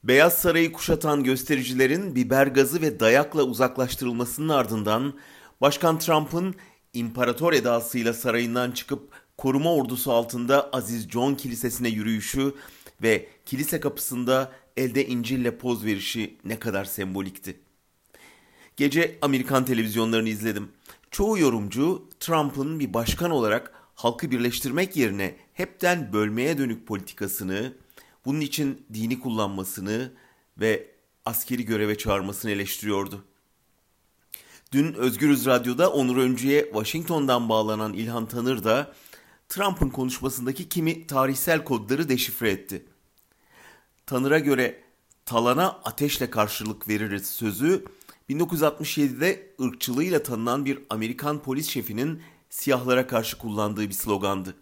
Beyaz Saray'ı kuşatan göstericilerin biber gazı ve dayakla uzaklaştırılmasının ardından Başkan Trump'ın imparator edasıyla sarayından çıkıp koruma ordusu altında Aziz John Kilisesi'ne yürüyüşü ve kilise kapısında elde İncil'le poz verişi ne kadar sembolikti. Gece Amerikan televizyonlarını izledim. Çoğu yorumcu Trump'ın bir başkan olarak halkı birleştirmek yerine hepten bölmeye dönük politikasını, bunun için dini kullanmasını ve askeri göreve çağırmasını eleştiriyordu. Dün Özgürüz Radyo'da Onur Öncü'ye Washington'dan bağlanan İlhan Tanır da Trump'ın konuşmasındaki kimi tarihsel kodları deşifre etti. Tanır'a göre talana ateşle karşılık veririz sözü 1967'de ırkçılığıyla tanınan bir Amerikan polis şefinin siyahlara karşı kullandığı bir slogandı.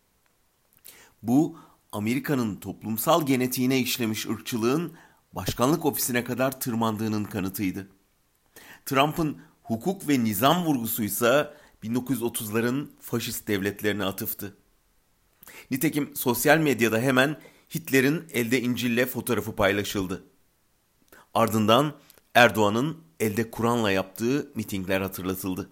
Bu Amerika'nın toplumsal genetiğine işlemiş ırkçılığın başkanlık ofisine kadar tırmandığının kanıtıydı. Trump'ın hukuk ve nizam vurgusuysa 1930'ların faşist devletlerine atıftı. Nitekim sosyal medyada hemen Hitler'in elde İncil'le fotoğrafı paylaşıldı. Ardından Erdoğan'ın elde Kur'an'la yaptığı mitingler hatırlatıldı.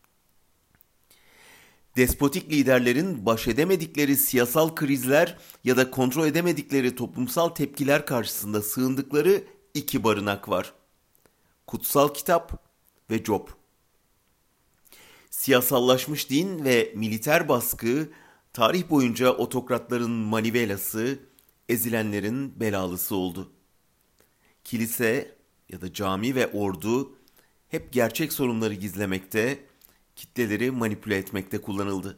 Despotik liderlerin baş edemedikleri siyasal krizler ya da kontrol edemedikleri toplumsal tepkiler karşısında sığındıkları iki barınak var. Kutsal Kitap ve Job. Siyasallaşmış din ve militer baskı tarih boyunca otokratların manivelası, ezilenlerin belalısı oldu. Kilise ya da cami ve ordu hep gerçek sorunları gizlemekte, kitleleri manipüle etmekte kullanıldı.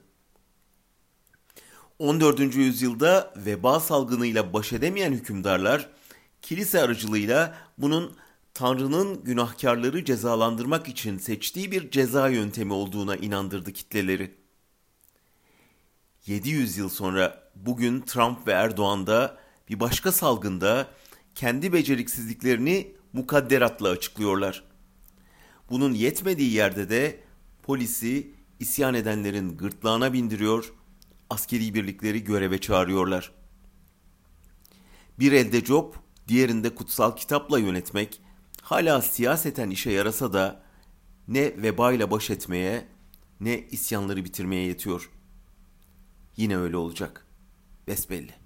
14. yüzyılda veba salgınıyla baş edemeyen hükümdarlar, kilise aracılığıyla bunun Tanrı'nın günahkarları cezalandırmak için seçtiği bir ceza yöntemi olduğuna inandırdı kitleleri. 700 yıl sonra bugün Trump ve Erdoğan da bir başka salgında kendi beceriksizliklerini mukadderatla açıklıyorlar. Bunun yetmediği yerde de polisi isyan edenlerin gırtlağına bindiriyor, askeri birlikleri göreve çağırıyorlar. Bir elde Job, diğerinde kutsal kitapla yönetmek hala siyaseten işe yarasa da ne vebayla baş etmeye ne isyanları bitirmeye yetiyor. Yine öyle olacak. Besbelli.